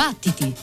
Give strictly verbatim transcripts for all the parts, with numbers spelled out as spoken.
Battiti!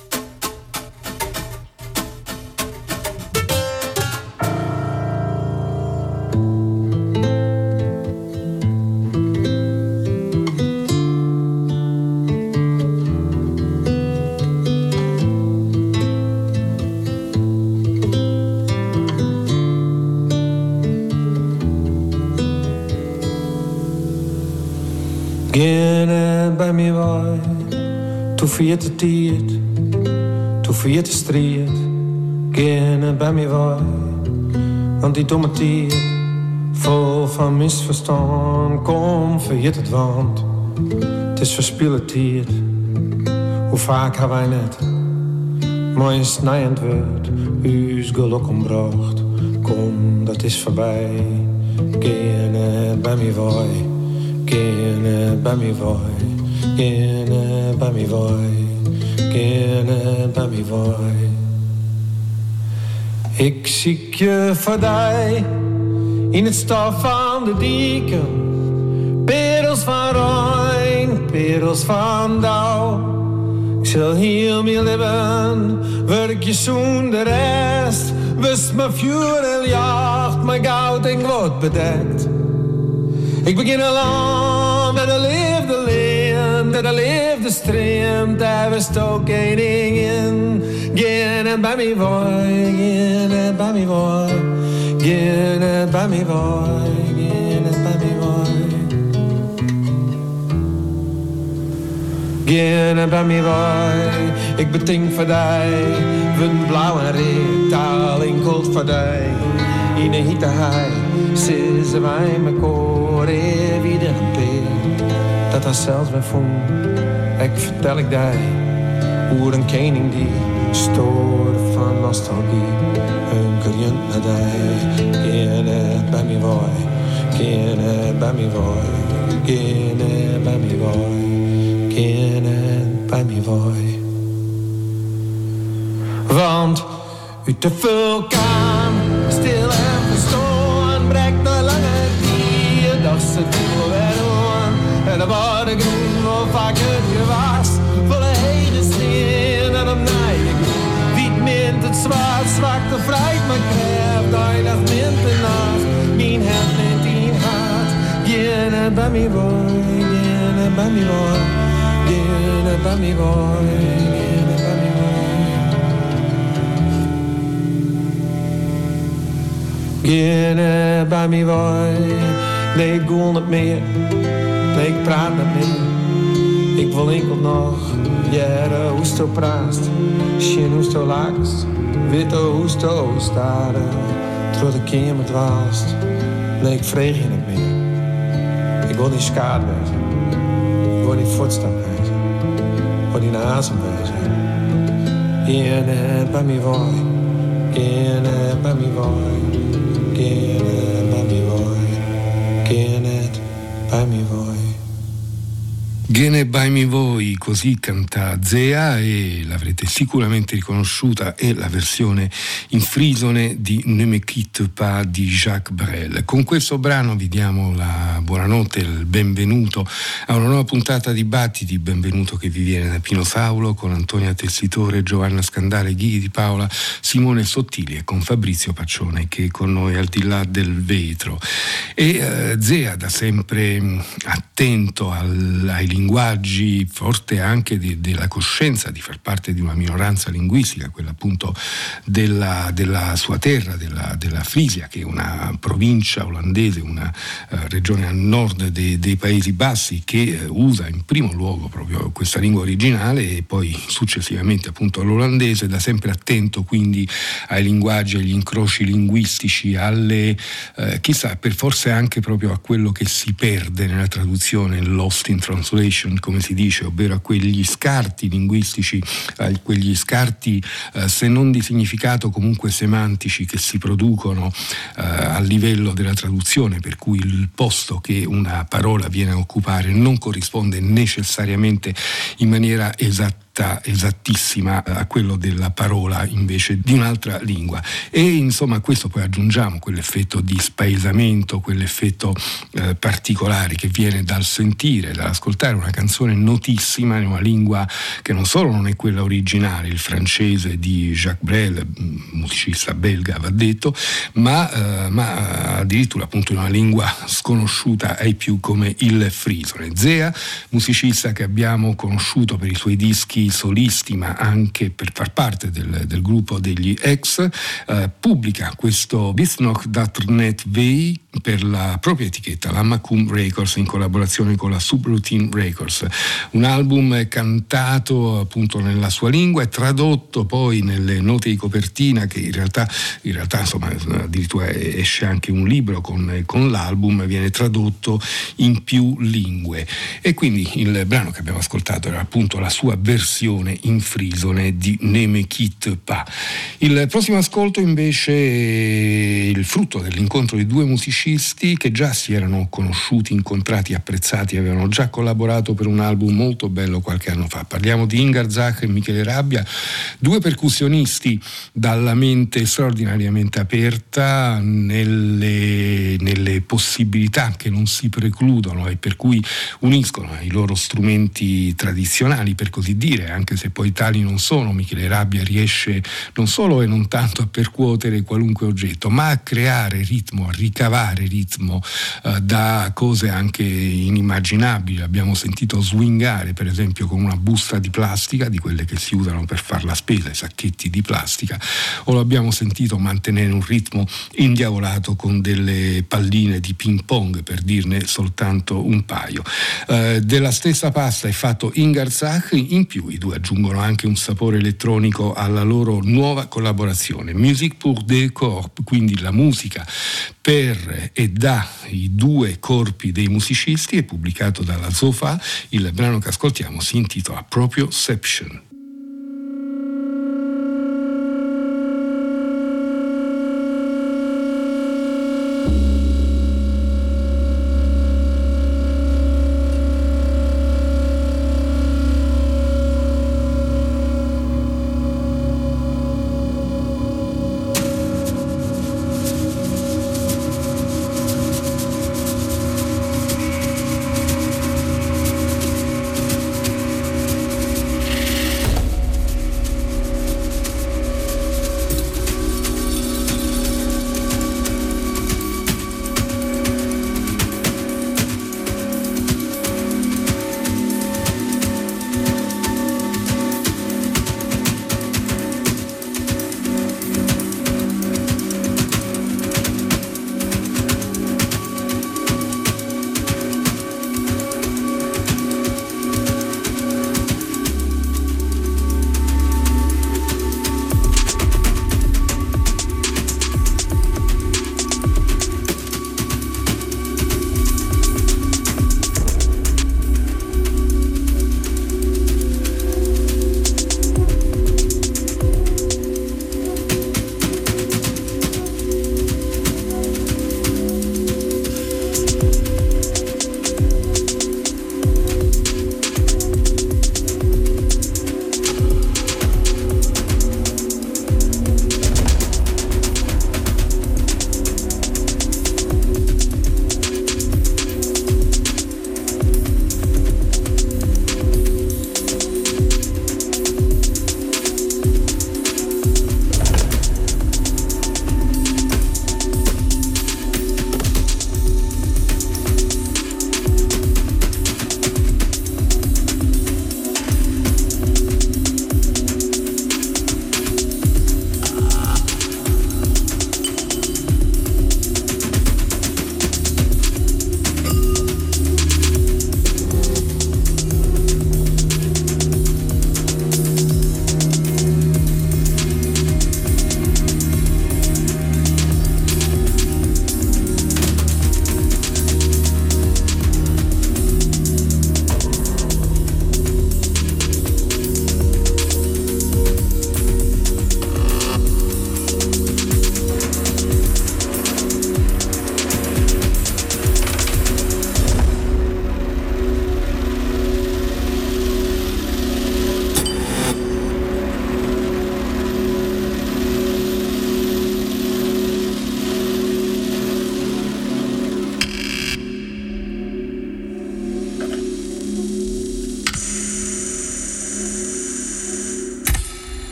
Gerne bij mij waai, toe viert de tijd, toe viert de strijd. Gerne bij mij waai, want die domme tijd, vol van misverstand, kom vergeet het want. Het is verspillen tijd, hoe vaak hebben wij net, maar een snijend woord, uw geluk ombracht. Kom, dat is voorbij, gerne bij mij waai. Gerne bij mij waai, gerne bij mij waai, gerne bij mij waai. Ik zie je voorbij in het stof van de dieken, perels van Rijn, perels van dauw. Ik zal heel mijn leven werk je zoen de rest, wist mijn vuur en jacht, mijn goud en gloed bedekt. Ik begin al aan met de liefde leen, met de liefde streamt, daar was ook één ding in. Geen bij mij waai, geen bij mij waai, geen bij mij waai, geen bij mij waai. Geen bij mij waai, ik betink voor die, van blauw en red, taal in gold voor die. In de hitte hij, ze wij me koren weer een peer. Dat hij zelfs weer voelt, ik vertel ik die, hoe een koning die stoort van nostalgie. Een kerjent naar die, geen bij mij waai, geen bij mij waai, geen bij mij waai, geen bij mij waai. Want uit de vulkaan, stil en verstoord, breekt de lange dier, dat ze doel weer aan. En de bodem groen, of vaak het gewas, volle hele steen en op nijden. Wiet mint het zwaard, zwakt de vrijheid, maar krijgt eindig mint de nacht. Mijn hart neemt in hart, geen bij mij waai, geen bij mij waai, geen bij mij waai. Geen bij mij waai, nee ik wil niet meer, nee ik praat niet meer. Ik wil enkel nog, jaren hoe sto praat, schien hoe sto laagst, witte hoe sto staren, terwijl de kamer dwaalst. Nee ik vreeg je niet meer, ik wil niet schade wezen, ik wil niet voetstap wezen, ik wil niet naar azem wezen. Geen bij mij waai, geen bij mij waai. Geen bij mij vuoi, geen bij mij vuoi. Gene by me voi, così canta Zea, e l'avrete sicuramente riconosciuta, è la versione in frisone di Ne me quitte pas di Jacques Brel. Con questo brano vi diamo la buonanotte, il benvenuto a una nuova puntata di Battiti, benvenuto che vi viene da Pino Saulo con Antonia Tessitore, Giovanna Scandale, Ghidi Di Paola, Simone Sottili e con Fabrizio Paccione che è con noi al di là del vetro. E eh, Zea da sempre attento al, ai linguaggi, forte anche di, della coscienza di far parte di una minoranza linguistica, quella appunto della, della sua terra, della, della Frisia, che è una provincia olandese, una uh, regione a nord de, dei Paesi Bassi, che uh, usa in primo luogo proprio questa lingua originale e poi successivamente appunto l'olandese, da sempre attento quindi ai linguaggi, agli incroci linguistici, alle uh, chissà, per forse anche proprio a quello che si perde nella traduzione, lost in translation, come si dice, ovvero a quegli scarti linguistici, a quegli scarti eh, se non di significato comunque semantici che si producono eh, a livello della traduzione, per cui il posto che una parola viene a occupare non corrisponde necessariamente in maniera esatta diretta, esattissima a quello della parola invece di un'altra lingua. E insomma a questo poi aggiungiamo quell'effetto di spaesamento, quell'effetto eh, particolare che viene dal sentire, dall'ascoltare una canzone notissima in una lingua che non solo non è quella originale, il francese di Jacques Brel, musicista belga va detto, ma, eh, ma addirittura appunto in una lingua sconosciuta ai più come il frisone. Zea, musicista che abbiamo conosciuto per i suoi dischi solisti ma anche per far parte del, del gruppo degli Ex, eh, pubblica questo Bis noch dat net weh per la propria etichetta, la Macum Records, in collaborazione con la Subroutine Records. Un album cantato appunto nella sua lingua e tradotto poi nelle note di copertina, che in realtà, in realtà insomma addirittura esce anche un libro con, con l'album, viene tradotto in più lingue. E quindi il brano che abbiamo ascoltato era appunto la sua versione in frisone di Ne me quitte pas. Il prossimo ascolto invece è il frutto dell'incontro di due musicisti che già si erano conosciuti, incontrati, apprezzati, avevano già collaborato per un album molto bello qualche anno fa. Parliamo di Ingar Zach e Michele Rabbia, due percussionisti dalla mente straordinariamente aperta nelle, nelle possibilità che non si precludono e per cui uniscono i loro strumenti tradizionali, per così dire, anche se poi tali non sono. Michele Rabbia riesce non solo e non tanto a percuotere qualunque oggetto, ma a creare ritmo, a ricavare ritmo eh, da cose anche inimmaginabili. Abbiamo sentito swingare per esempio con una busta di plastica, di quelle che si usano per far la spesa, i sacchetti di plastica, o l'abbiamo sentito mantenere un ritmo indiavolato con delle palline di ping pong, per dirne soltanto un paio. Eh, della stessa pasta è fatto Ingar Zach, in più i due aggiungono anche un sapore elettronico alla loro nuova collaborazione, Musique pour deux corps, quindi la musica per e da i due corpi dei musicisti, è pubblicato dalla Zofa. Il brano che ascoltiamo si intitola proprio Seption.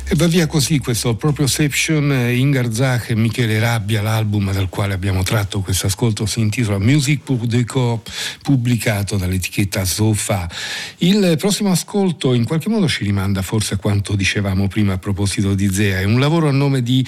E va via così questo Proprioception. Ingar Zach e Michele Rabbia, l'album dal quale abbiamo tratto questo ascolto si intitola Musique pour deux corps, pubblicato dall'etichetta Zofa. Il prossimo ascolto in qualche modo ci rimanda forse a quanto dicevamo prima a proposito di Zea. È un lavoro a nome di,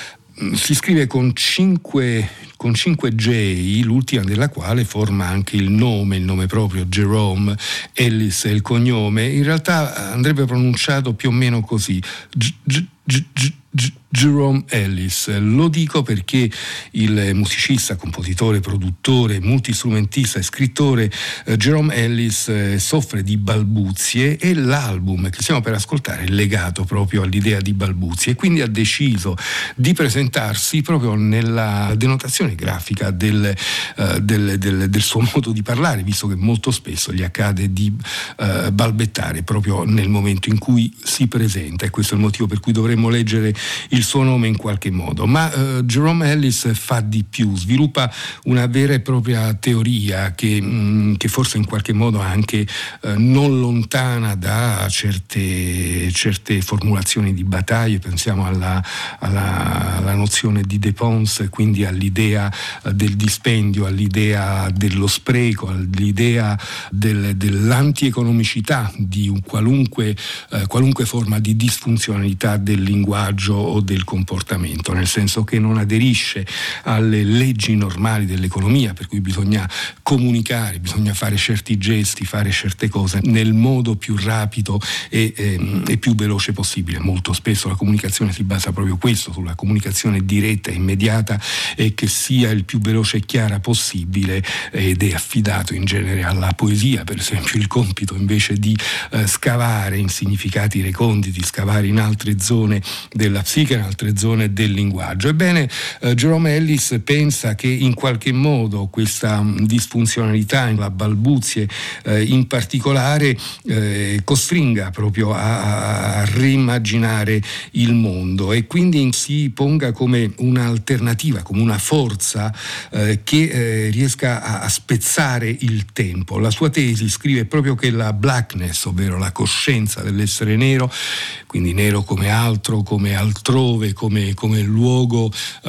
si scrive con cinque con cinque J, l'ultima della quale forma anche il nome, il nome proprio, Jerome Ellis è il cognome. In realtà andrebbe pronunciato più o meno così, G- G- G- G- G- Jerome Ellis. Lo dico perché il musicista, compositore, produttore, multistrumentista e scrittore eh, Jerome Ellis eh, soffre di balbuzie e l'album che stiamo per ascoltare è legato proprio all'idea di balbuzie, e quindi ha deciso di presentarsi proprio nella denotazione grafica del, eh, del, del, del suo modo di parlare, visto che molto spesso gli accade di eh, balbettare proprio nel momento in cui si presenta, e questo è il motivo per cui dovremmo leggere il suo nome in qualche modo. Ma uh, Jerome Ellis fa di più, sviluppa una vera e propria teoria che, mh, che forse in qualche modo anche uh, non lontana da certe, certe formulazioni di battaglie. Pensiamo alla, alla, alla nozione di dépense, quindi all'idea uh, del dispendio, all'idea dello spreco, all'idea del, dell'antieconomicità di un qualunque, uh, qualunque forma di disfunzionalità del linguaggio o del comportamento, nel senso che non aderisce alle leggi normali dell'economia, per cui bisogna comunicare, bisogna fare certi gesti, fare certe cose nel modo più rapido e, e, e più veloce possibile. Molto spesso la comunicazione si basa proprio questo, sulla comunicazione diretta e immediata, e che sia il più veloce e chiara possibile, ed è affidato in genere alla poesia, per esempio, il compito invece di eh, scavare in significati reconditi, scavare in altre zone della psiche, in altre zone del linguaggio. Ebbene, eh, Jerome Ellis pensa che in qualche modo questa mh, disfunzionalità, la balbuzie eh, in particolare, eh, costringa proprio a, a reimmaginare il mondo, e quindi si ponga come un'alternativa, come una forza eh, che eh, riesca a, a spezzare il tempo. La sua tesi scrive proprio che la blackness, ovvero la coscienza dell'essere nero, quindi nero come altro, come altrove, come, come luogo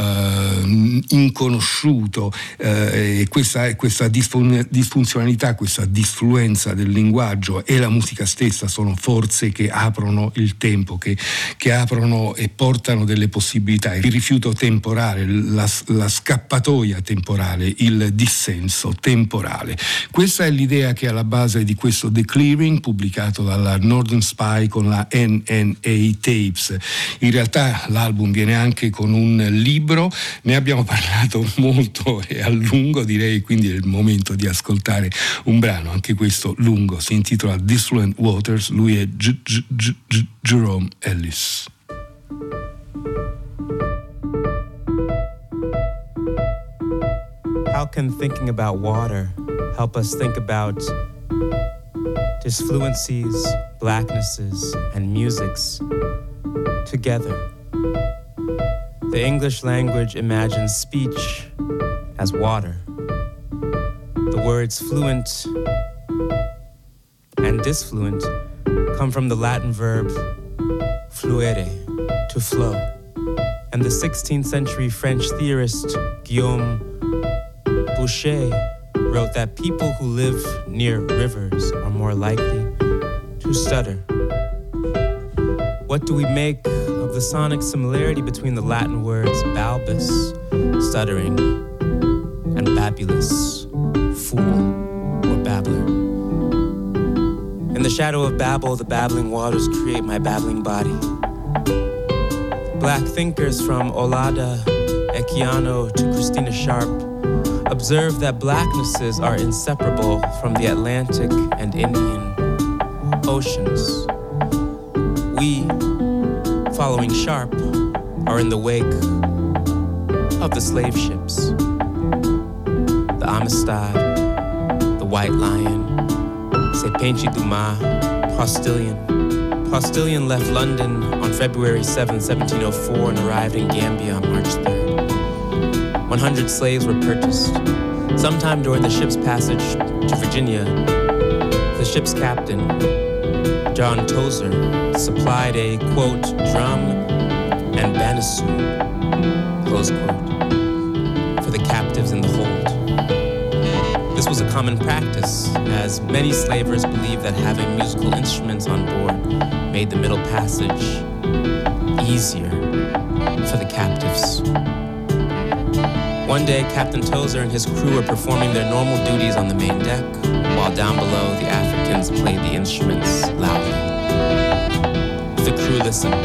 eh, inconosciuto, eh, e questa, questa disfun- disfunzionalità, questa disfluenza del linguaggio e la musica stessa sono forze che aprono il tempo, che, che aprono e portano delle possibilità, il rifiuto temporale, la, la scappatoia temporale, il dissenso temporale. Questa è l'idea che è alla base di questo The Clearing, pubblicato dalla Northern Spy con la N N A Tapes. In realtà l'album viene anche con un libro, ne abbiamo parlato molto e a lungo, direi, quindi è il momento di ascoltare un brano, anche questo lungo, si intitola Disfluent Waters, lui è G- G- G- G- Jerome Ellis. How can thinking about water help us think about disfluencies, blacknesses, and musics together? The English language imagines speech as water. The words fluent and disfluent come from the Latin verb fluere, to flow. And the sixteenth century French theorist Guillaume Boucher wrote that people who live near rivers are more likely to stutter. What do we make of the sonic similarity between the Latin words balbus, stuttering, and babulus, fool or babbler? In the shadow of Babel, the babbling waters create my babbling body. Black thinkers from Olada Equiano to Christina Sharp observe that blacknesses are inseparable from the Atlantic and Indian oceans. We, following Sharp, are in the wake of the slave ships. The Amistad, the White Lion, Sepenchi Dumas, Postilion. Postilion left London on February seventh, seventeen oh four and arrived in Gambia on March third. one hundred slaves were purchased. Sometime during the ship's passage to Virginia, the ship's captain, John Tozer supplied a, quote, drum and banisu, close quote, for the captives in the hold. This was a common practice, as many slavers believed that having musical instruments on board made the middle passage easier for the captives. One day, Captain Tozer and his crew were performing their normal duties on the main deck, while down below, the Africans played the instruments loudly. The crew listened.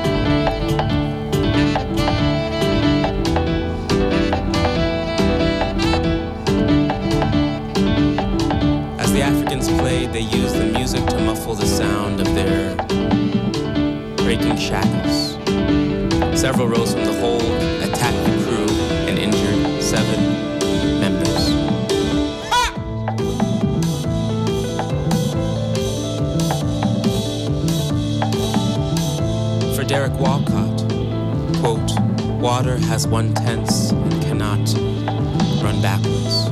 As the Africans played, they used the music to muffle the sound of their breaking shackles. Several rose from the hold, attacked the crew, and injured seven members. For Derek Walcott, quote, water has one tense and cannot run backwards.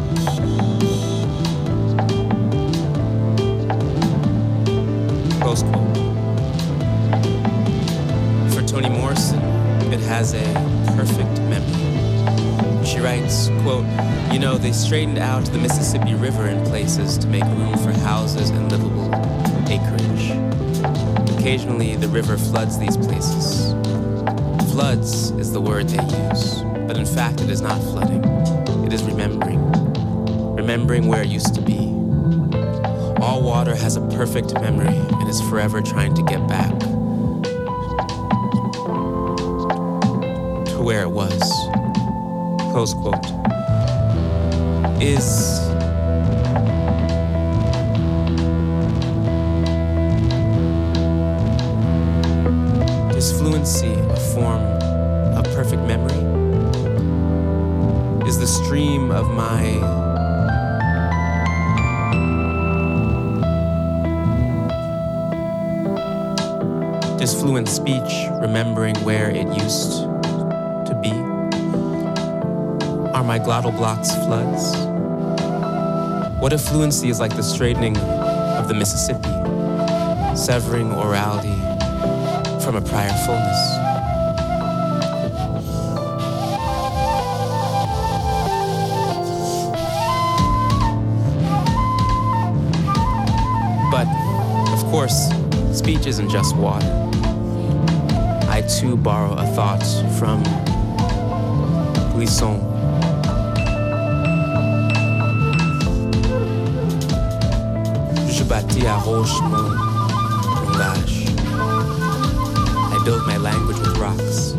Close quote. For Toni Morrison, it has a perfect memory. She writes, quote, you know, they straightened out the Mississippi River in places to make room for houses and livable acreage. Occasionally, the river floods these places. Floods is the word they use, but in fact, it is not flooding. It is remembering. Remembering where it used to be. All water has a perfect memory and is forever trying to get back to where it was. Close quote. Is is fluency a form of perfect memory? Is the stream of my disfluent speech remembering where it used to be? Are my glottal blocks floods? What if fluency is like the straightening of the Mississippi, severing orality from a prior fullness? But, of course, speech isn't just water. I too borrow a thought from Glisson. Je bâtis à roche mon langage. I build my language with rocks.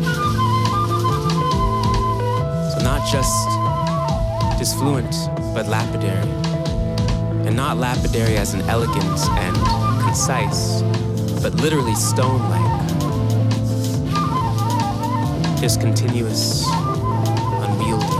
So not just disfluent, but lapidary. And not lapidary as in elegant and concise, but literally stone-like. Discontinuous, unwieldy.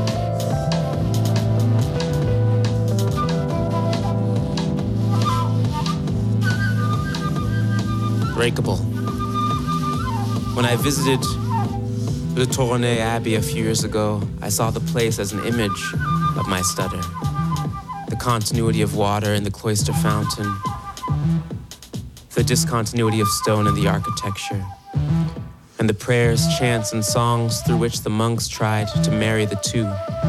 Breakable. When I visited Le Tournai Abbey a few years ago, I saw the place as an image of my stutter. The continuity of water in the cloister fountain, the discontinuity of stone in the architecture, and the prayers, chants, and songs through which the monks tried to marry the two.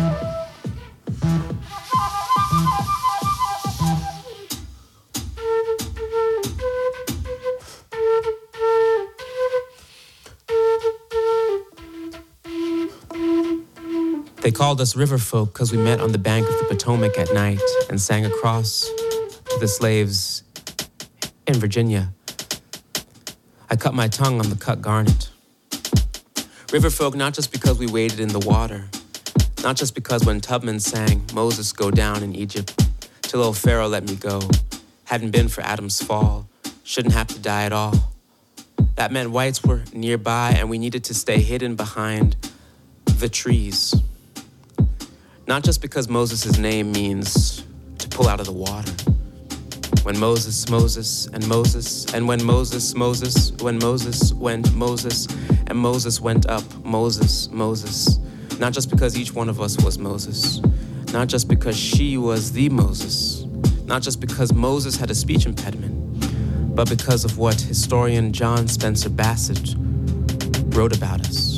They called us river folk because we met on the bank of the Potomac at night and sang across to the slaves in Virginia. I cut my tongue on the cut garnet. River folk not just because we waded in the water, not just because when Tubman sang Moses go down in Egypt till old Pharaoh let me go, hadn't been for Adam's fall, shouldn't have to die at all. That meant whites were nearby and we needed to stay hidden behind the trees. Not just because Moses' name means to pull out of the water. When Moses, Moses, and Moses, and when Moses, Moses, when Moses went Moses, and Moses went up Moses, Moses. Not just because each one of us was Moses. Not just because she was the Moses. Not just because Moses had a speech impediment. but because of what historian John Spencer Bassett wrote about us.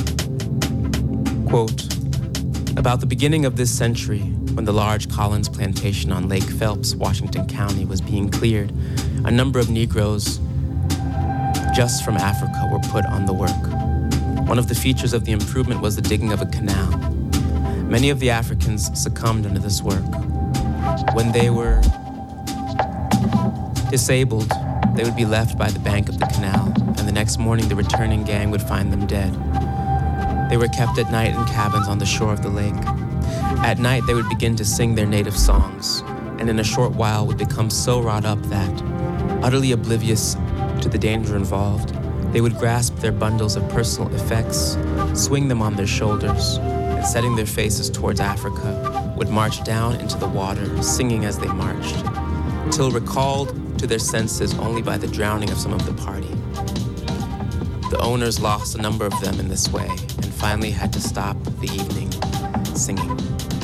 Quote, about the beginning of this century, when the large Collins plantation on Lake Phelps, Washington County, was being cleared, a number of Negroes just from Africa were put on the work. One of the features of the improvement was the digging of a canal. Many of the Africans succumbed under this work. When they were disabled, they would be left by the bank of the canal, and the next morning the returning gang would find them dead. They were kept at night in cabins on the shore of the lake. At night, they would begin to sing their native songs, and in a short while would become so wrought up that, utterly oblivious to the danger involved, they would grasp their bundles of personal effects, swing them on their shoulders, and setting their faces towards Africa, would march down into the water, singing as they marched, till recalled to their senses only by the drowning of some of the party. The owners lost a number of them in this way, and finally had to stop the evening singing.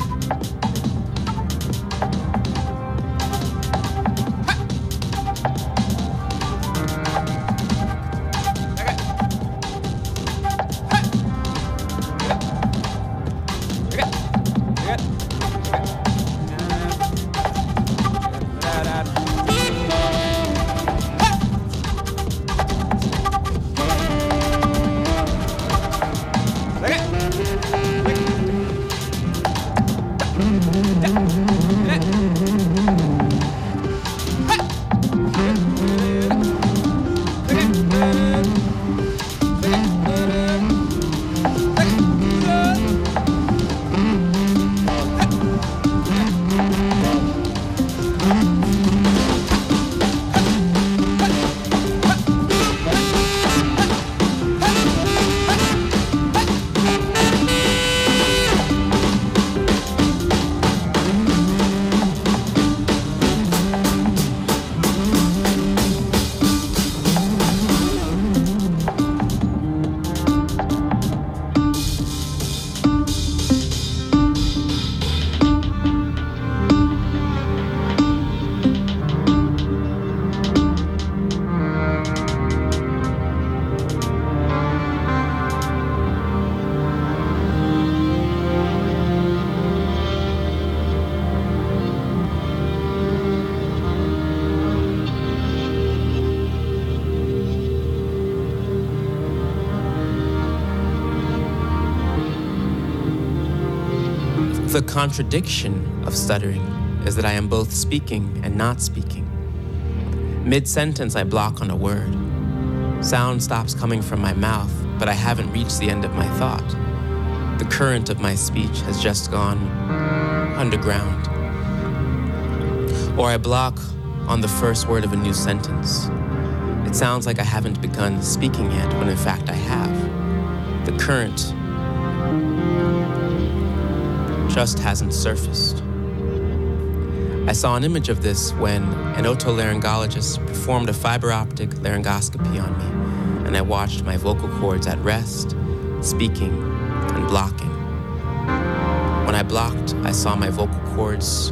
The contradiction of stuttering is that I am both speaking and not speaking. Mid-sentence, I block on a word. Sound stops coming from my mouth, but I haven't reached the end of my thought. The current of my speech has just gone underground. Or I block on the first word of a new sentence. It sounds like I haven't begun speaking yet, when in fact I have. The current just hasn't surfaced. I saw an image of this when an otolaryngologist performed a fiber optic laryngoscopy on me, and I watched my vocal cords at rest, speaking, and blocking. When I blocked, I saw my vocal cords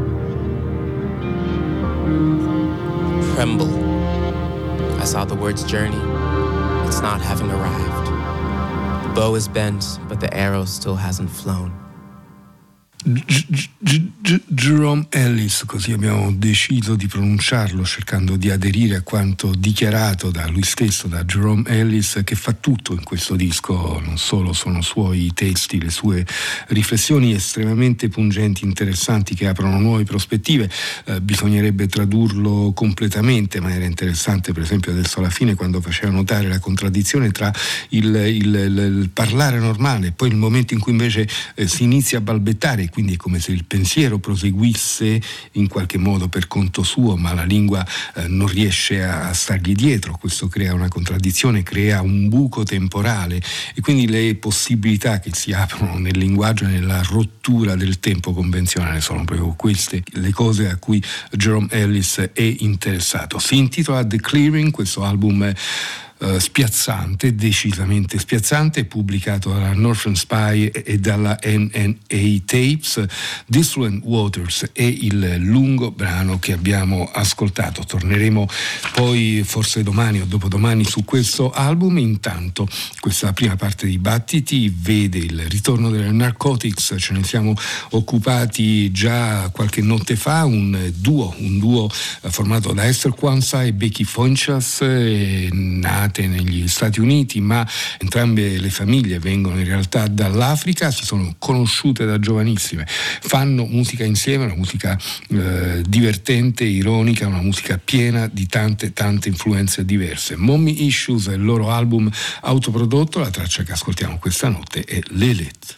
tremble. I saw the words journey. It's not having arrived. The bow is bent, but the arrow still hasn't flown. G- G- G- Jerome Ellis, così abbiamo deciso di pronunciarlo, cercando di aderire a quanto dichiarato da lui stesso, da Jerome Ellis, che fa tutto in questo disco. Non solo sono suoi testi, le sue riflessioni estremamente pungenti, interessanti, che aprono nuove prospettive. Eh, bisognerebbe tradurlo completamente, ma era interessante per esempio adesso alla fine quando faceva notare la contraddizione tra il, il, il, il parlare normale e poi il momento in cui invece eh, si inizia a balbettare. Quindi è come se il pensiero proseguisse in qualche modo per conto suo, ma la lingua eh, non riesce a, a stargli dietro. Questo crea una contraddizione, crea un buco temporale, e quindi le possibilità che si aprono nel linguaggio e nella rottura del tempo convenzionale sono proprio queste le cose a cui Jerome Ellis è interessato. Si intitola The Clearing, questo album uh, spiazzante, decisamente spiazzante, pubblicato dalla Northern Spy e dalla N N A Tapes. Dissolent Waters è il lungo brano che abbiamo ascoltato. Torneremo poi forse domani o dopodomani su questo album. Intanto questa prima parte di Battiti vede il ritorno delle Narcotics. Ce ne siamo occupati già qualche notte fa, un duo, un duo formato da Esther Quanza e Becky Fonchas, eh, nate negli Stati Uniti, ma entrambe le famiglie vengono in realtà dall'Africa, si sono conosciute da giovanissime, fanno musica insieme, una musica eh, divertente, ironica, una musica piena di tante tante influenze diverse. Mommy Issues è il loro album autoprodotto, la traccia che ascoltiamo questa notte è Lilith.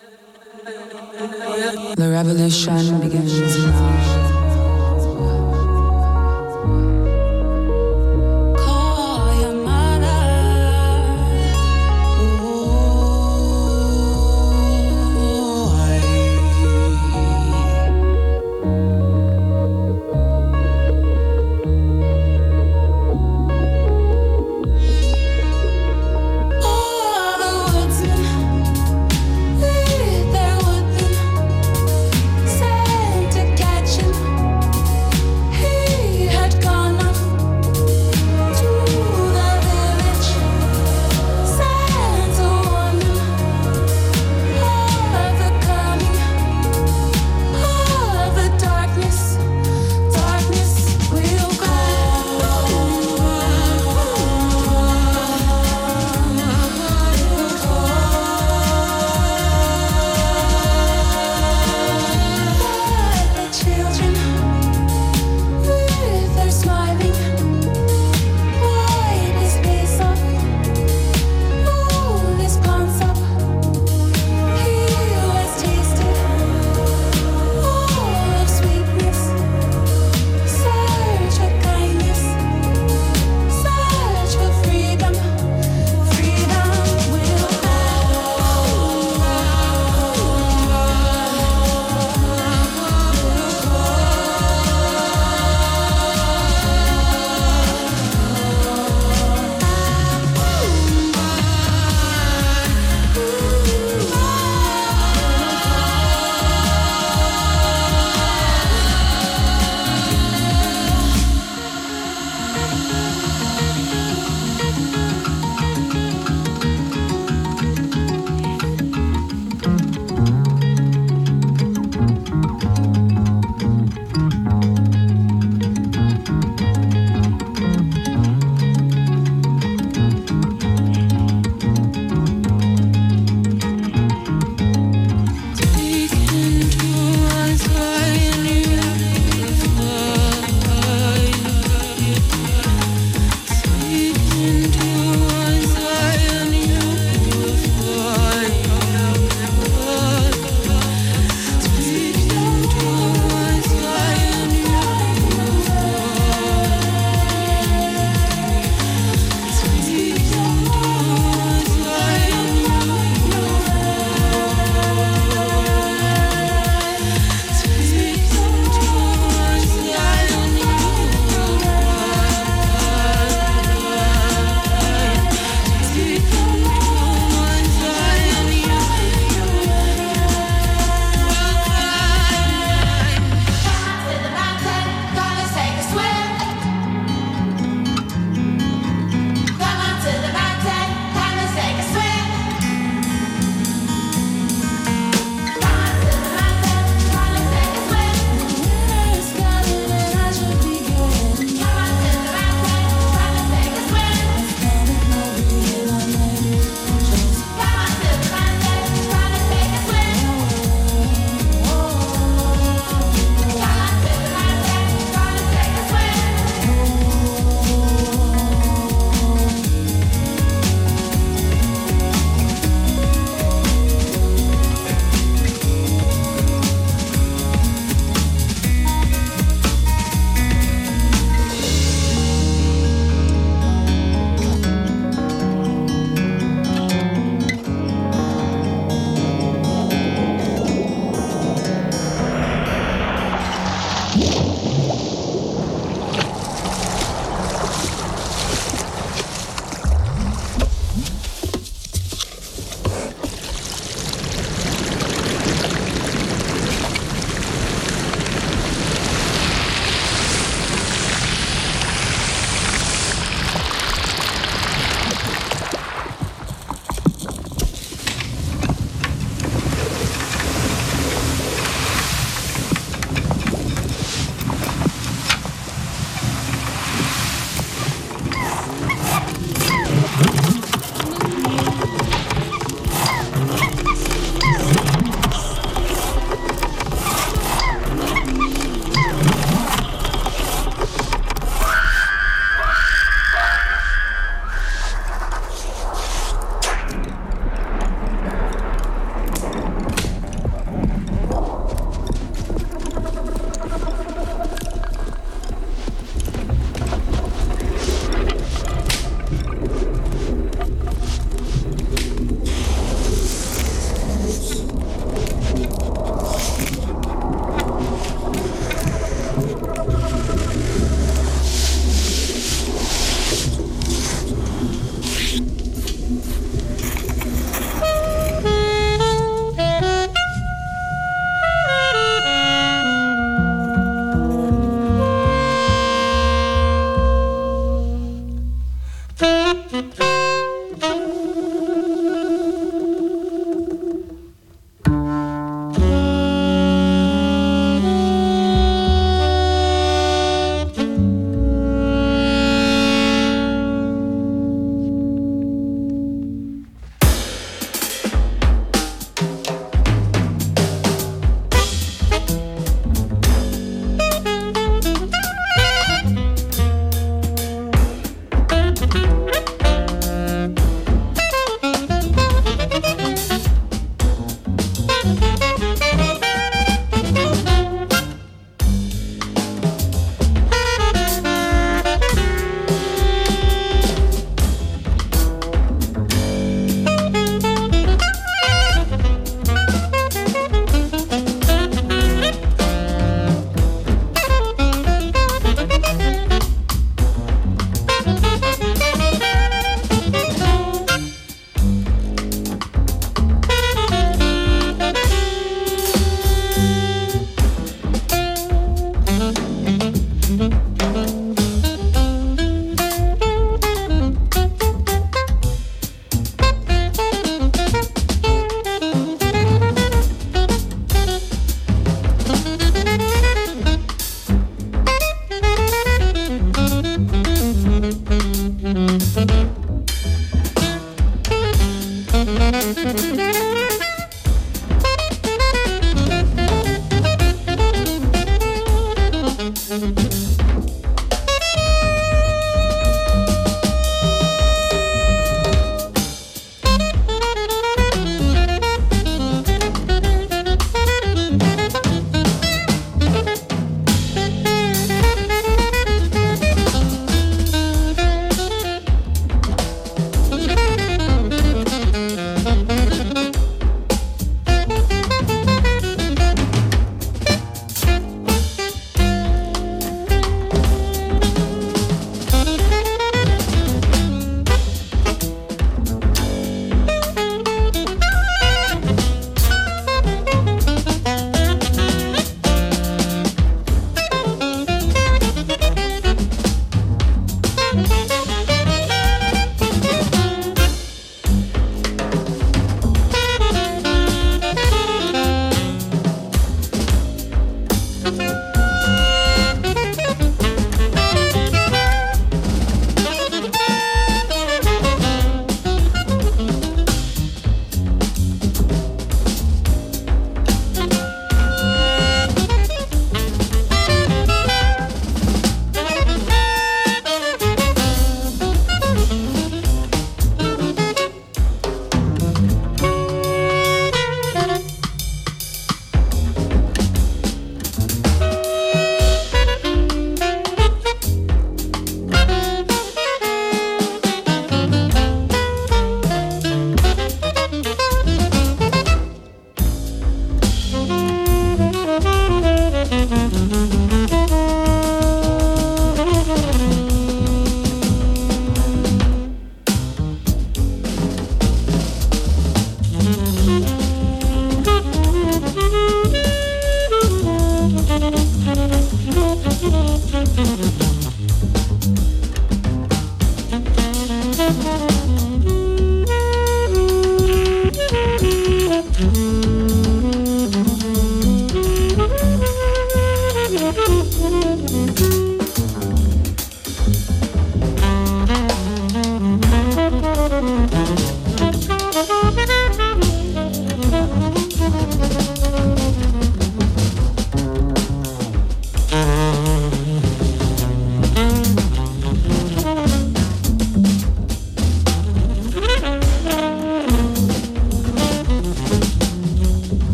The revolution begins now. Catching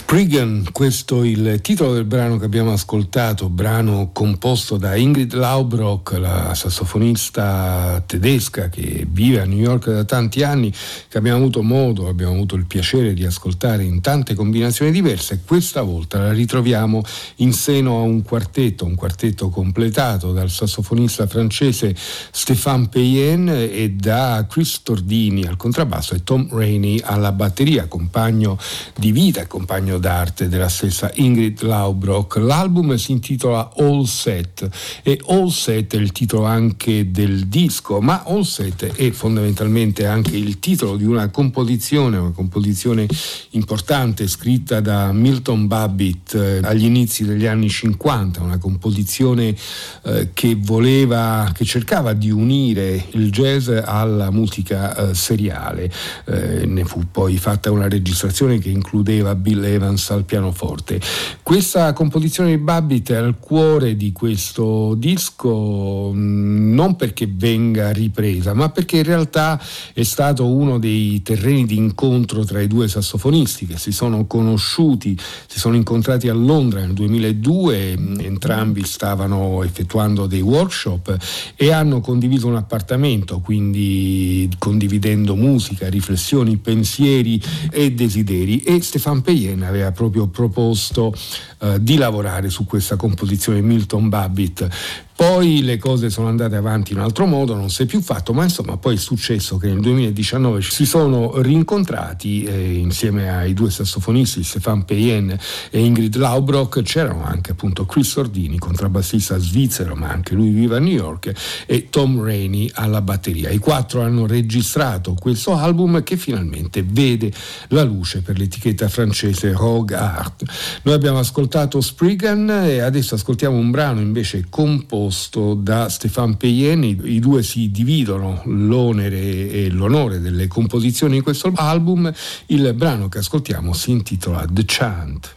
Spriggan, questo è il titolo del brano che abbiamo ascoltato, brano composto da Ingrid Laubrock, la sassofonista tedesca che vive a New York da tanti anni, che abbiamo avuto modo, abbiamo avuto il piacere di ascoltare in tante combinazioni diverse. Questa volta la ritroviamo in seno a un quartetto, un quartetto completato dal sassofonista francese Stéphane Payen e da Chris Tordini al contrabbasso e Tom Rainey alla batteria, compagno di vita e compagno d'arte della stessa Ingrid Laubrock. L'album si intitola All Set e All Set è il titolo anche del disco, ma All Set è fondamentalmente anche il titolo di una composizione, una composizione importante scritta da Milton Babbitt eh, agli inizi degli anni cinquanta, una composizione eh, che voleva, che cercava di unire il jazz alla musica eh, seriale. Eh, ne fu poi fatta una registrazione che includeva Bill Evans al pianoforte. Questa composizione di Babbitt è al cuore di questo disco, non perché venga ripresa, ma perché in realtà è stato uno dei terreni di incontro tra i due sassofonisti che si sono conosciuti, si sono incontrati a Londra nel duemiladue, entrambi stavano effettuando dei workshop e hanno condiviso un appartamento, quindi condividendo musica, riflessioni, pensieri e desideri, e Stéphane Payen aveva proprio proposto uh, di lavorare su questa composizione Milton Babbitt. Poi le cose sono andate avanti in un altro modo, non si è più fatto, ma insomma poi è successo che nel duemiladiciannove si sono rincontrati eh, insieme ai due sassofonisti Stéphane Payen e Ingrid Laubrock. C'erano anche appunto Chris Tordini, contrabbassista svizzero, ma anche lui vive a New York, e Tom Rainey alla batteria. I quattro hanno registrato questo album che finalmente vede la luce per l'etichetta francese Rogue Art. Noi abbiamo ascoltato Spriggan e adesso ascoltiamo un brano invece composto da Stéphane Payen. I due si dividono l'onere e l'onore delle composizioni di questo album. Il brano che ascoltiamo si intitola The Chant.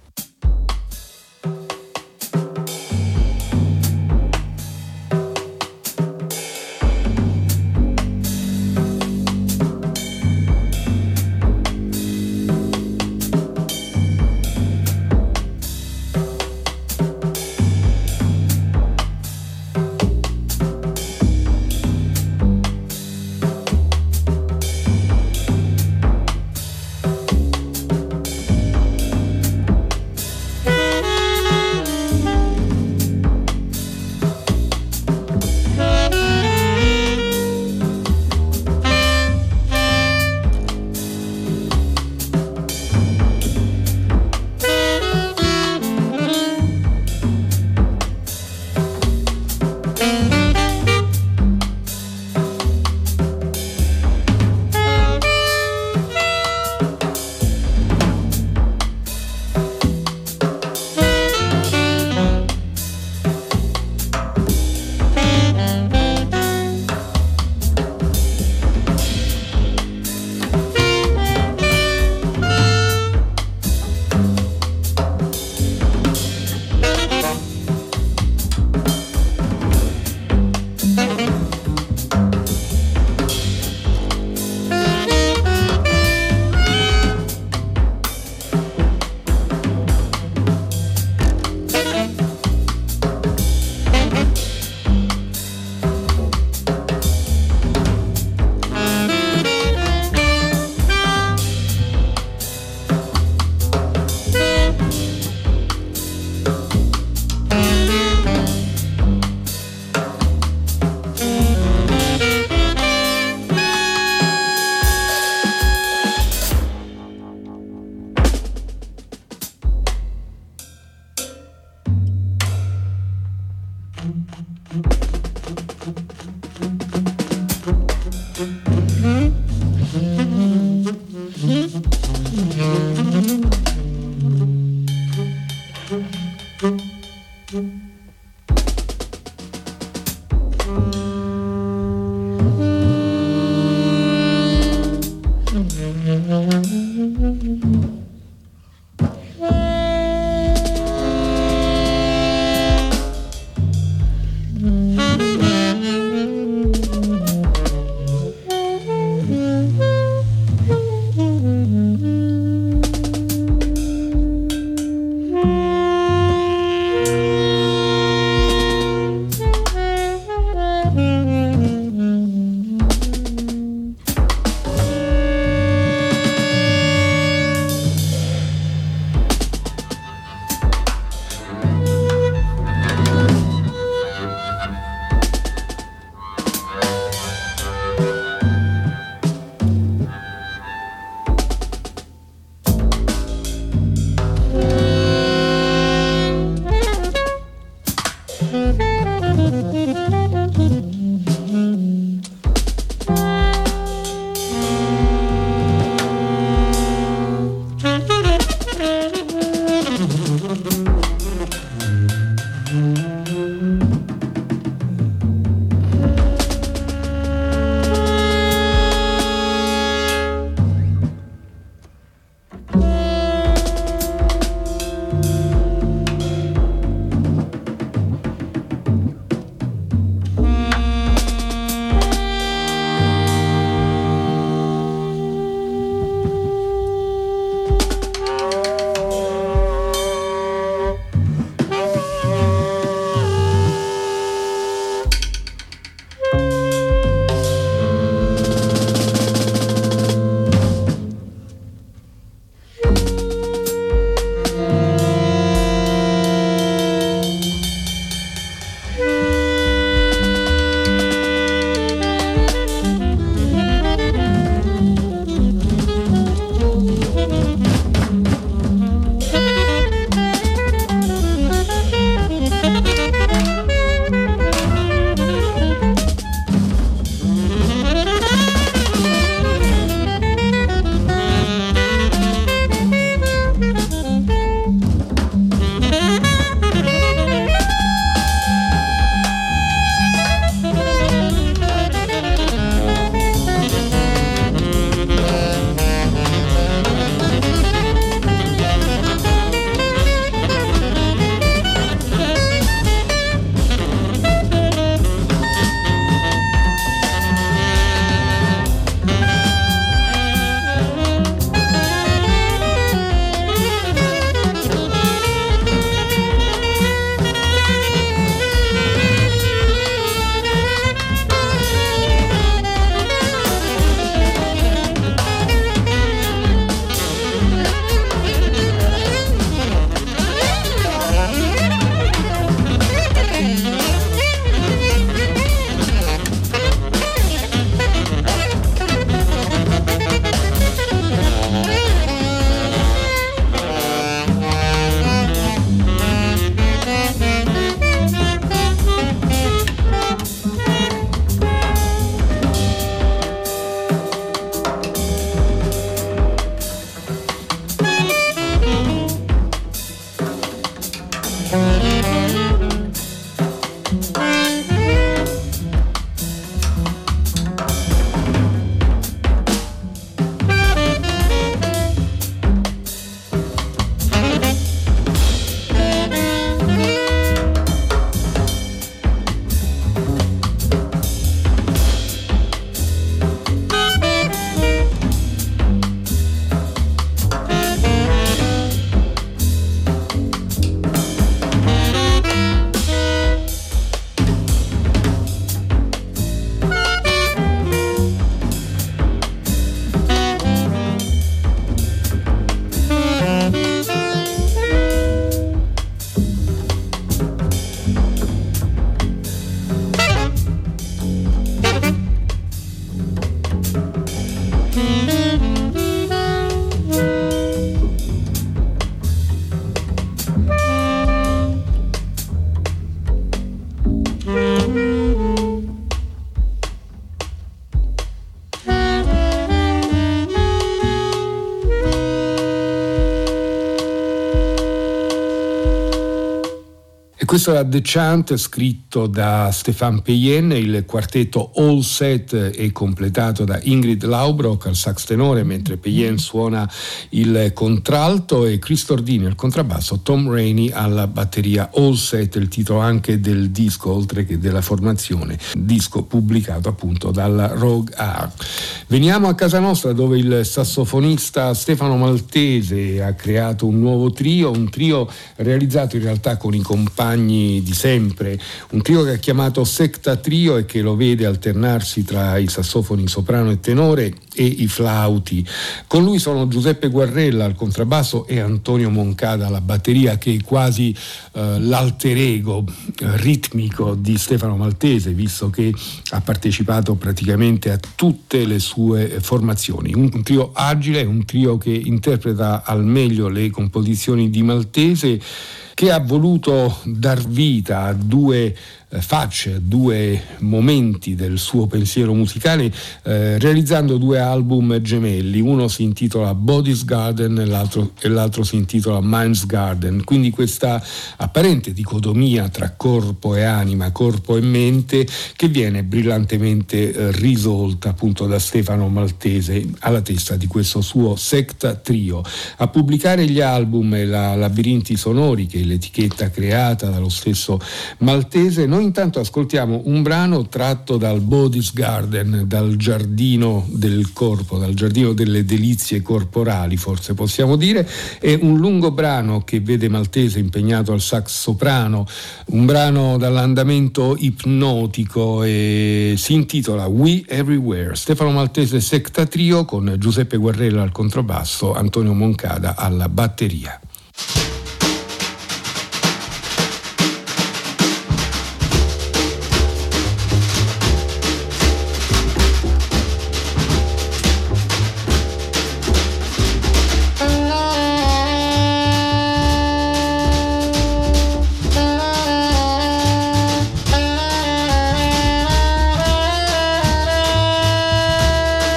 Questo era The Chant, scritto da Stéphane Peyen. Il quartetto All Set è completato da Ingrid Laubrock al sax tenore, mentre Peyen suona il contralto, e Chris Tordini al contrabbasso, Tom Rainey alla batteria. All Set, il titolo anche del disco, oltre che della formazione, disco pubblicato appunto dalla Rogue Art. Veniamo a casa nostra, dove il sassofonista Stefano Maltese ha creato un nuovo trio, un trio realizzato in realtà con i compagni di sempre, un trio che ha chiamato Secta Trio e che lo vede alternarsi tra i sassofoni soprano e tenore e i flauti. Con lui sono Giuseppe Guarrella al contrabbasso e Antonio Moncada alla batteria, che è quasi eh, l'alter ego eh, ritmico di Stefano Maltese, visto che ha partecipato praticamente a tutte le sue formazioni. Un, un trio agile, un trio che interpreta al meglio le composizioni di Maltese, che ha voluto dar vita a due eh, facce, a due momenti del suo pensiero musicale, eh, realizzando due album gemelli. Uno si intitola Body's Garden e l'altro, e l'altro si intitola Mind's Garden. Quindi questa apparente dicotomia tra corpo e anima, corpo e mente, che viene brillantemente eh, risolta appunto da Stefano Maltese alla testa di questo suo Secta Trio. A pubblicare gli album e la Labirinti Sonori, che l'etichetta creata dallo stesso Maltese, noi intanto ascoltiamo un brano tratto dal Body's Garden, dal giardino del corpo, dal giardino delle delizie corporali, forse possiamo dire. È un lungo brano che vede Maltese impegnato al sax soprano, un brano dall'andamento ipnotico, e si intitola We Everywhere. Stefano Maltese Secta Trio con Giuseppe Guarrella al contrabbasso, Antonio Moncada alla batteria.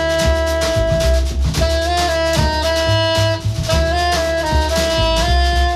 Thank you.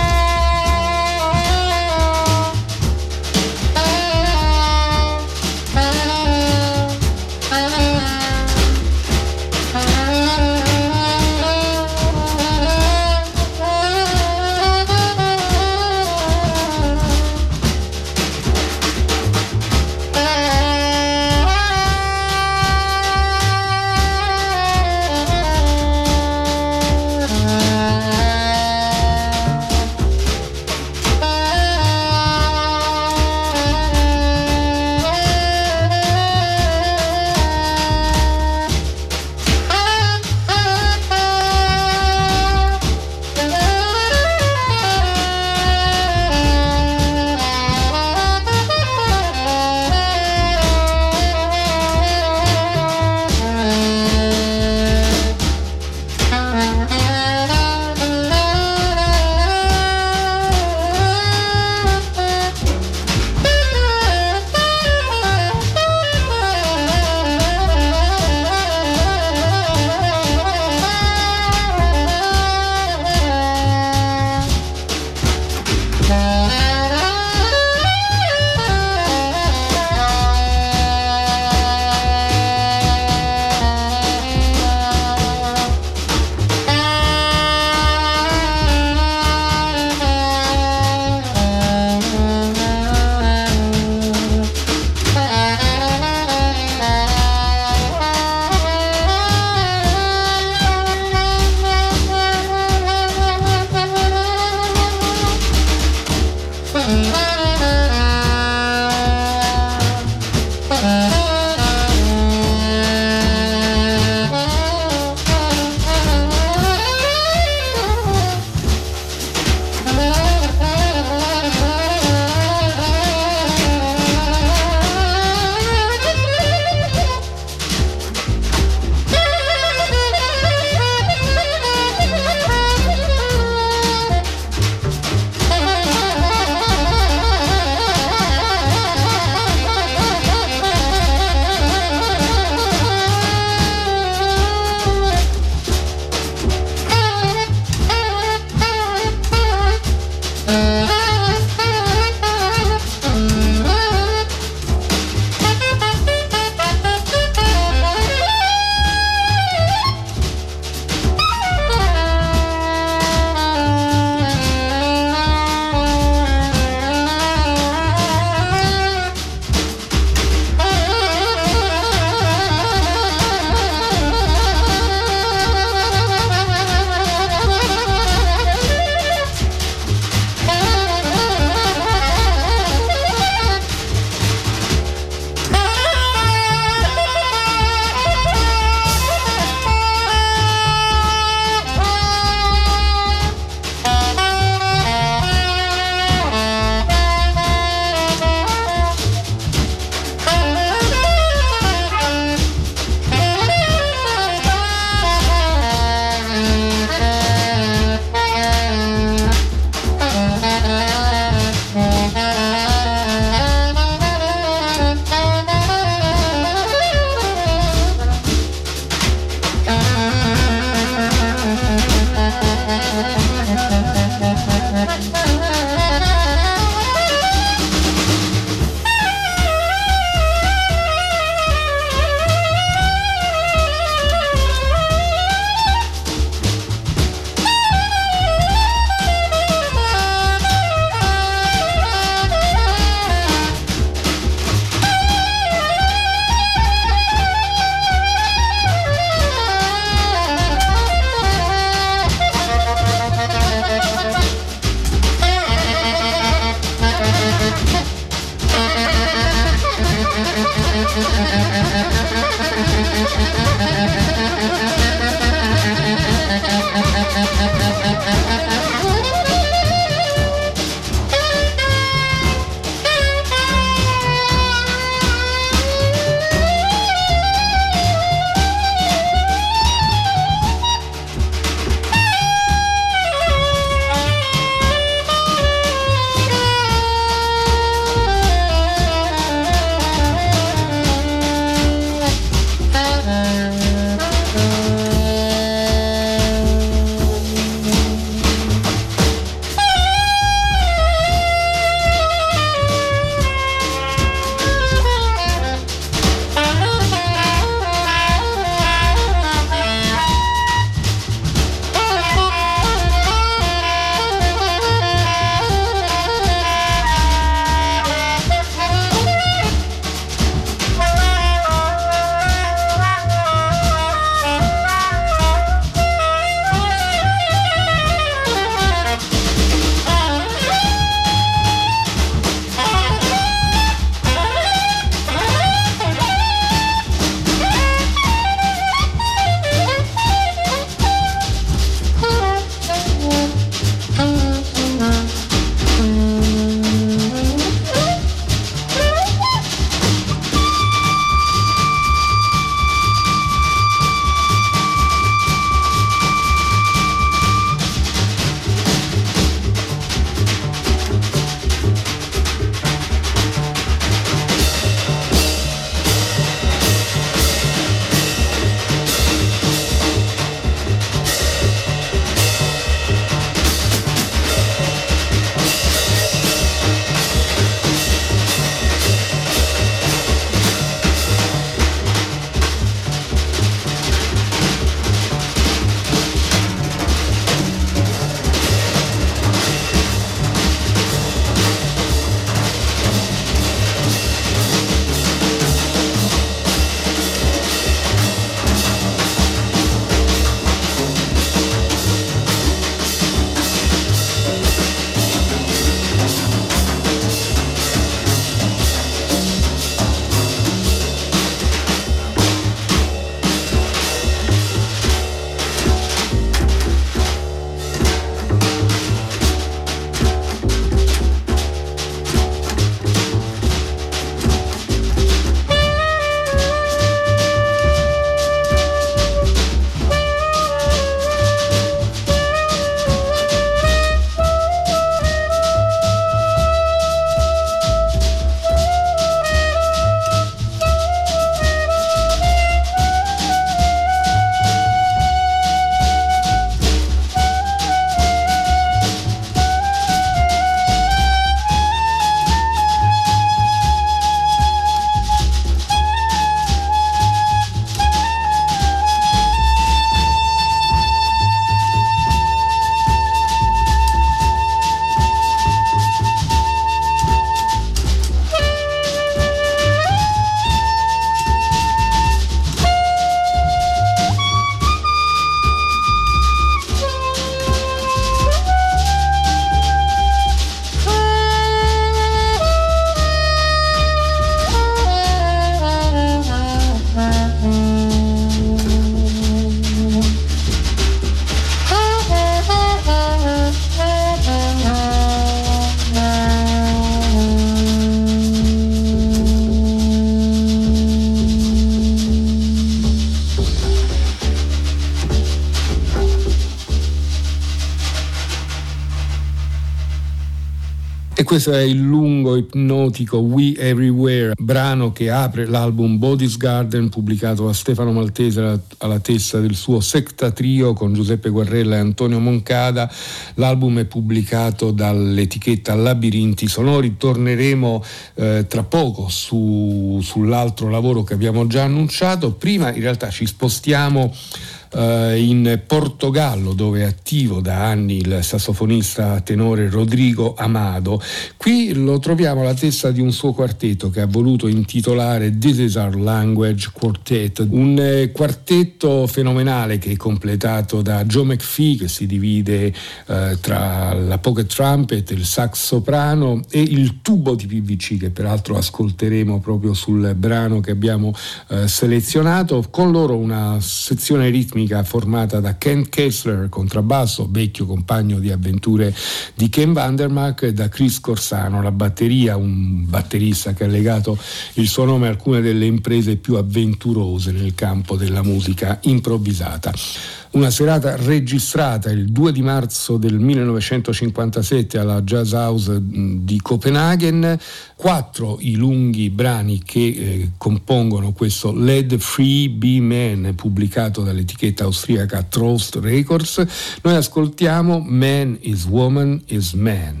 questo è il lungo ipnotico We Everywhere, brano che apre l'album Body's Garden, pubblicato da Stefano Maltese alla testa del suo Secta Trio con Giuseppe Guarrella e Antonio Moncada. L'album è pubblicato dall'etichetta Labirinti Sonori. Torneremo eh, tra poco su, sull'altro lavoro che abbiamo già annunciato. Prima in realtà ci spostiamo in Portogallo, dove è attivo da anni il sassofonista tenore Rodrigo Amado. Qui lo troviamo alla testa di un suo quartetto che ha voluto intitolare This Is Our Language Quartet, un quartetto fenomenale che è completato da Joe McPhee, che si divide eh, tra la pocket trumpet, il sax soprano e il tubo di P V C, che peraltro ascolteremo proprio sul brano che abbiamo eh, selezionato. Con loro una sezione ritmica formata da Ken Kessler, contrabbasso, vecchio compagno di avventure di Ken Vandermark, e da Chris Corsano, la batteria, un batterista che ha legato il suo nome a alcune delle imprese più avventurose nel campo della musica improvvisata. Una serata registrata il due di marzo del millenovecentocinquantasette alla Jazz House di Copenaghen. Quattro i lunghi brani che eh, compongono questo Let Free Be Man, pubblicato dall'etichetta austriaca Trost Records. Noi ascoltiamo Man is Woman is Man.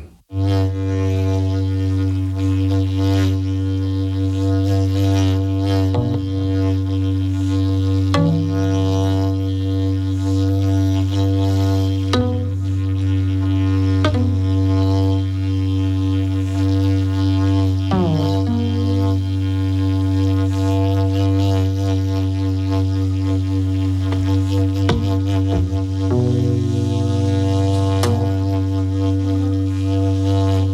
Thank you.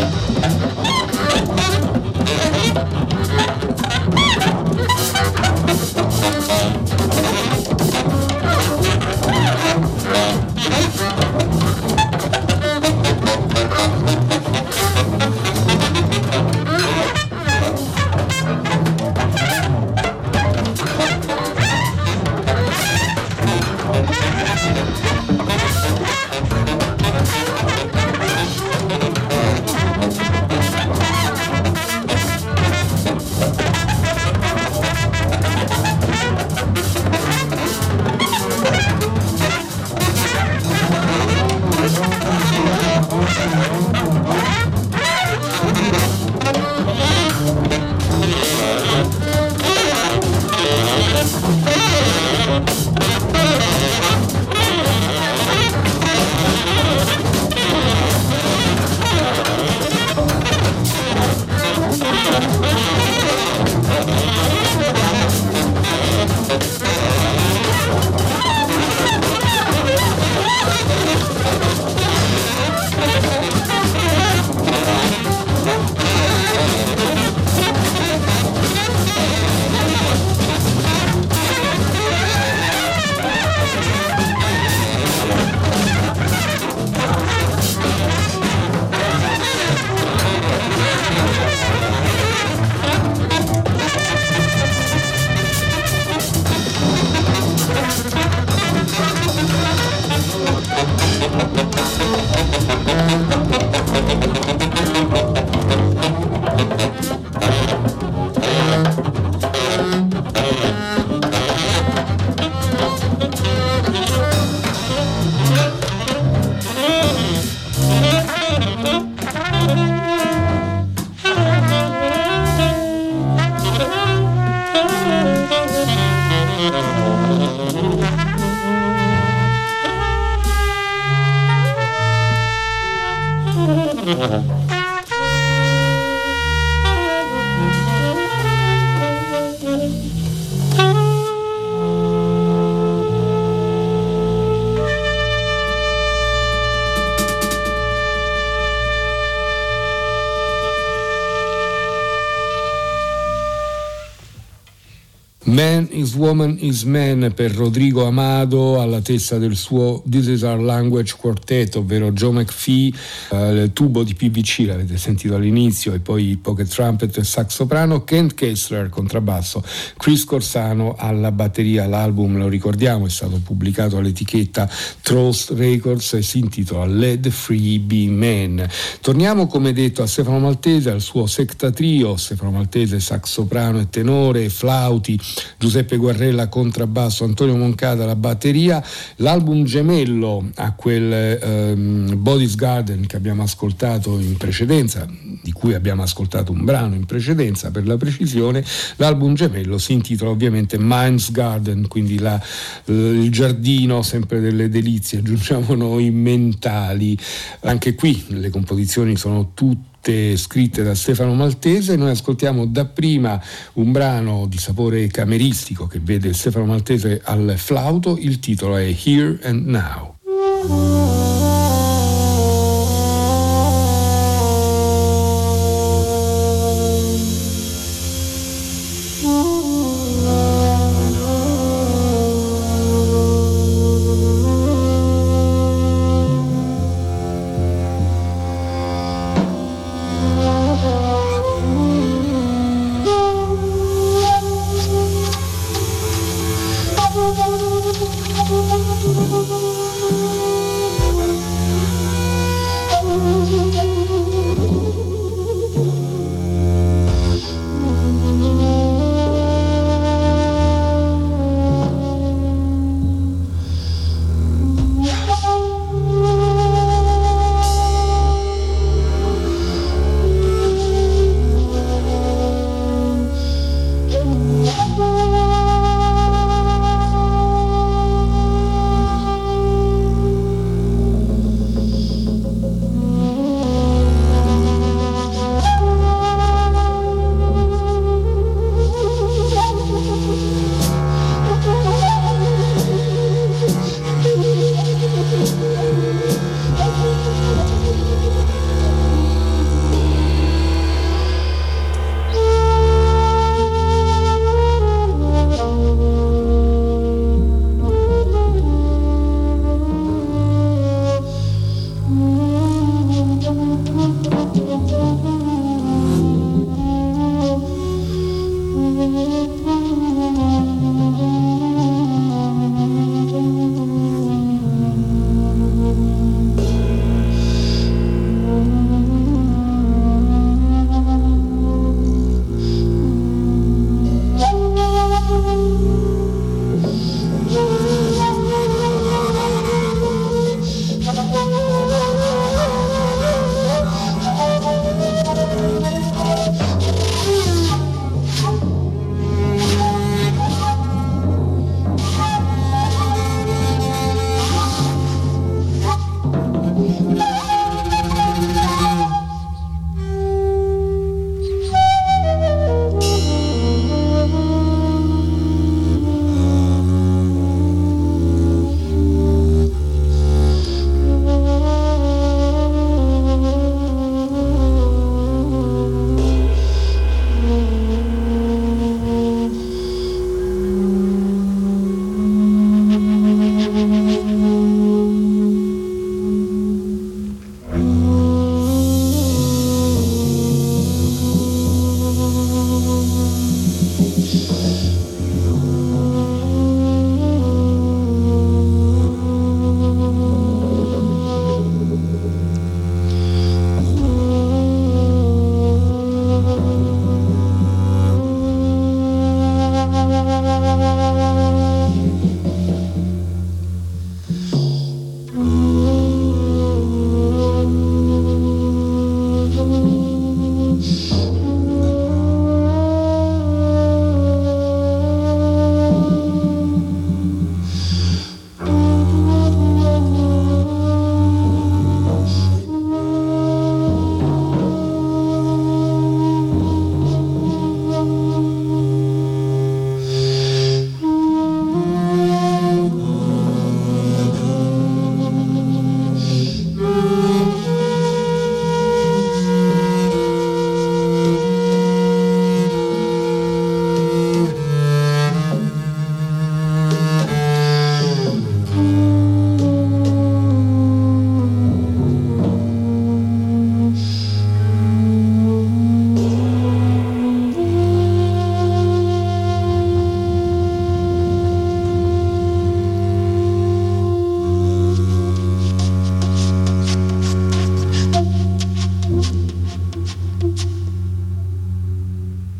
Man is Woman is Man per Rodrigo Amado alla testa del suo This Is Our Language Quartet, ovvero Joe McPhee, eh, il tubo di P V C, l'avete sentito all'inizio, e poi pocket trumpet e sax soprano, Kent Kessler contrabbasso, Chris Corsano alla batteria. L'album, lo ricordiamo, è stato pubblicato all'etichetta Trost Records e si intitola Let the Free Be Man. Torniamo, come detto, a Stefano Maltese, al suo secta trio: Stefano Maltese sax soprano e tenore, flauti, Giuseppe Guarrella contrabbasso, Antonio Moncada alla batteria. L'album gemello a quel um, Body's Garden che abbiamo ascoltato in precedenza, di cui abbiamo ascoltato un brano in precedenza per la precisione, l'album gemello si intitola ovviamente Mind's Garden, quindi la, il giardino sempre delle delizie, aggiungiamo noi, mentali. Anche qui le composizioni sono tutte scritte da Stefano Maltese. Noi ascoltiamo dapprima un brano di sapore cameristico che vede Stefano Maltese al flauto, il titolo è Here and Now.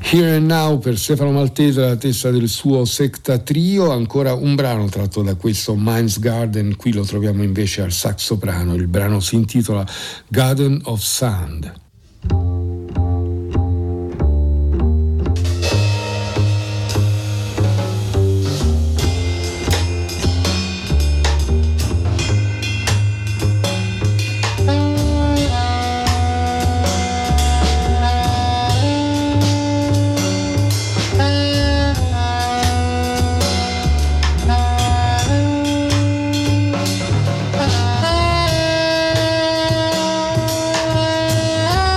Here and Now per Stefano Maltese, la testa del suo Secta Trio, ancora un brano tratto da questo Mind's Garden, qui lo troviamo invece al sax soprano, il brano si intitola Garden of Sound. Ah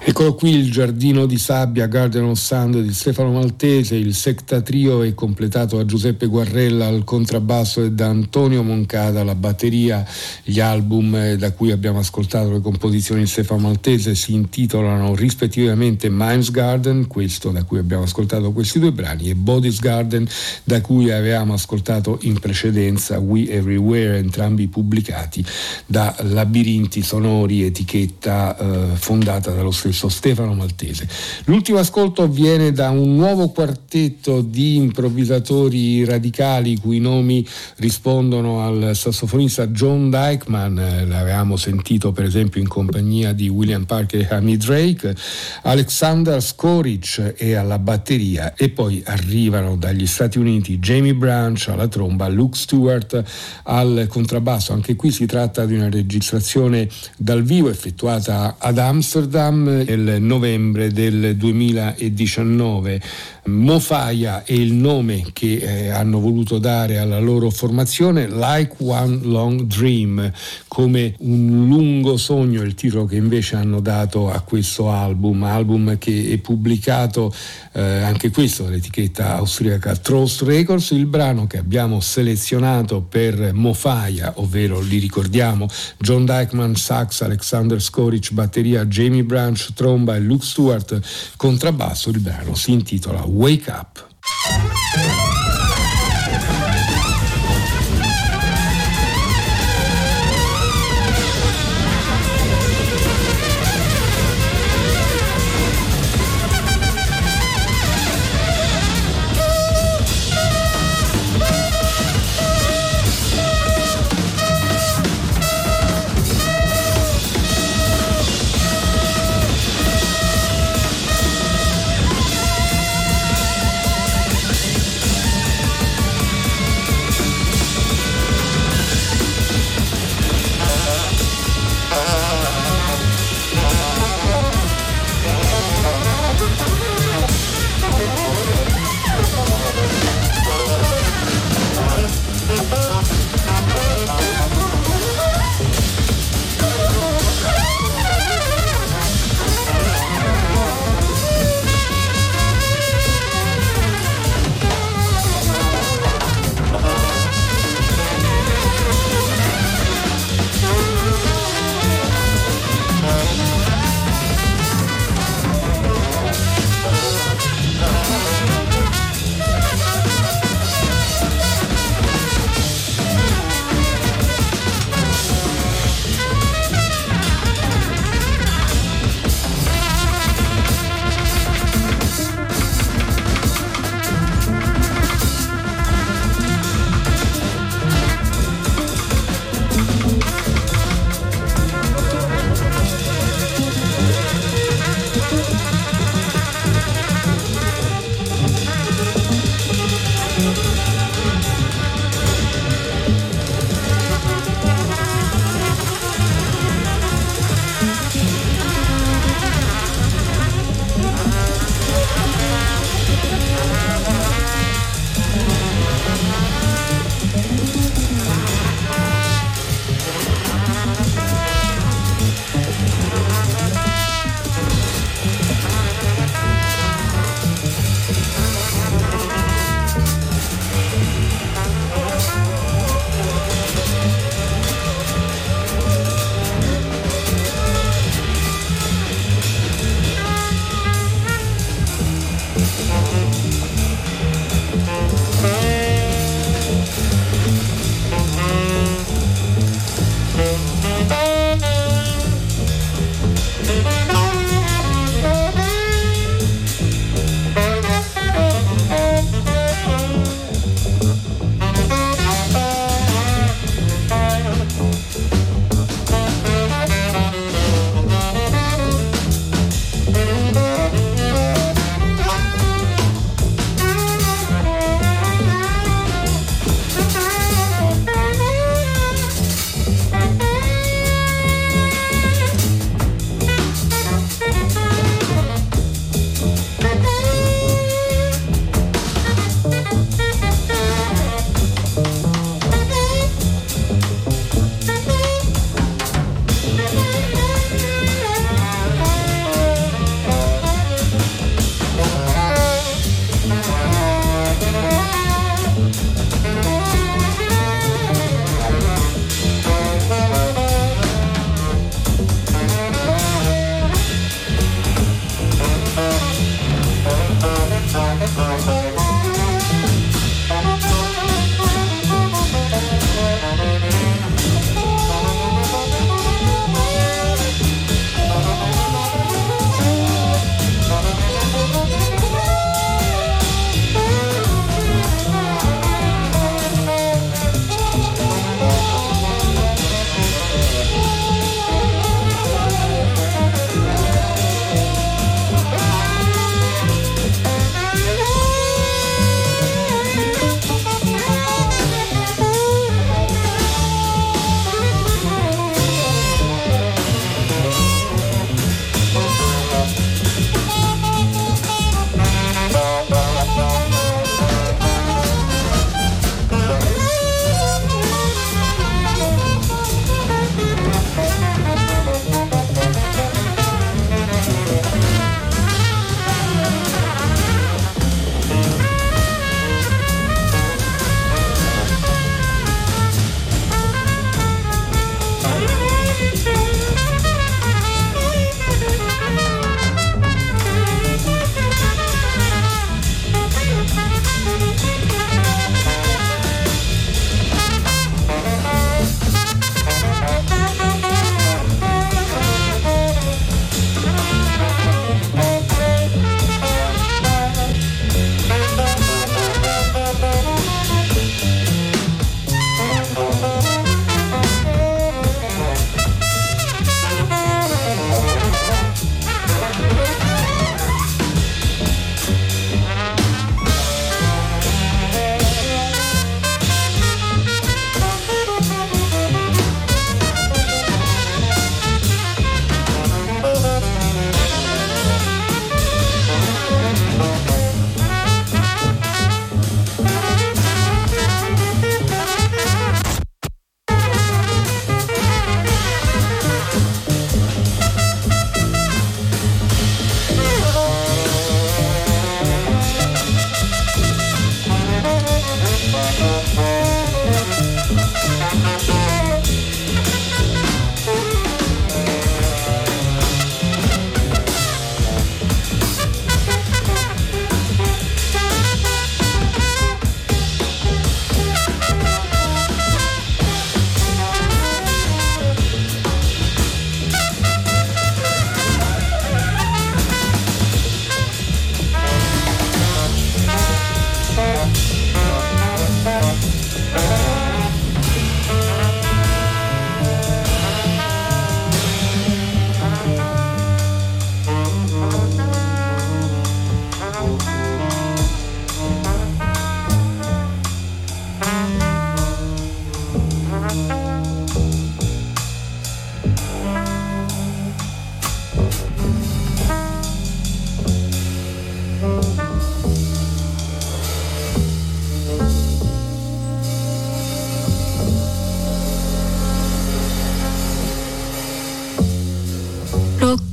Eccolo qui il Giardino di Sabbia, Garden of Sand di Stefano Maltese. Il Secta Trio è completato da Giuseppe Guarrella al contrabbasso e da Antonio Moncada alla batteria. Gli album da cui abbiamo ascoltato le composizioni di Stefano Maltese si intitolano rispettivamente Mind's Garden, questo da cui abbiamo ascoltato questi due brani, e Body's Garden, da cui avevamo ascoltato in precedenza We Everywhere, entrambi pubblicati da Labirinti Sonori, etichetta eh, fondata dallo stesso Stefano Maltese. L'ultimo ascolto viene da un nuovo quartetto di improvvisatori radicali cui nomi rispondono al sassofonista John Dykman, l'avevamo sentito per esempio in compagnia di William Parker e Amy Drake, Alexander Skoric è alla batteria, e poi arrivano dagli Stati Uniti Jamie Branch alla tromba, Luke Stewart al contrabbasso. Anche qui si tratta di una registrazione dal vivo effettuata ad Amsterdam nel novembre del duemiladiciannove. Mofaia è il nome che eh, hanno voluto dare alla loro formazione, Like One Long Dream, come un lungo sogno, il titolo che invece hanno dato a questo album, album che è pubblicato eh, anche questo dall'etichetta austriaca Trost Records. Il brano che abbiamo selezionato per Mofaia, ovvero li ricordiamo John Dykman sax, Alexander Skoric batteria, Jamie Branch tromba e Luke Stewart contrabbasso, il brano si intitola Wake Up.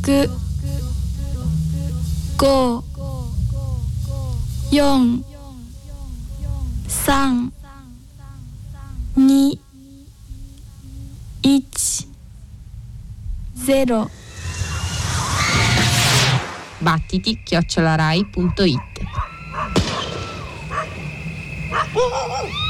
く、ご、よん、さん、に、いち、ゼロ。 battiti chiocciola rai punto it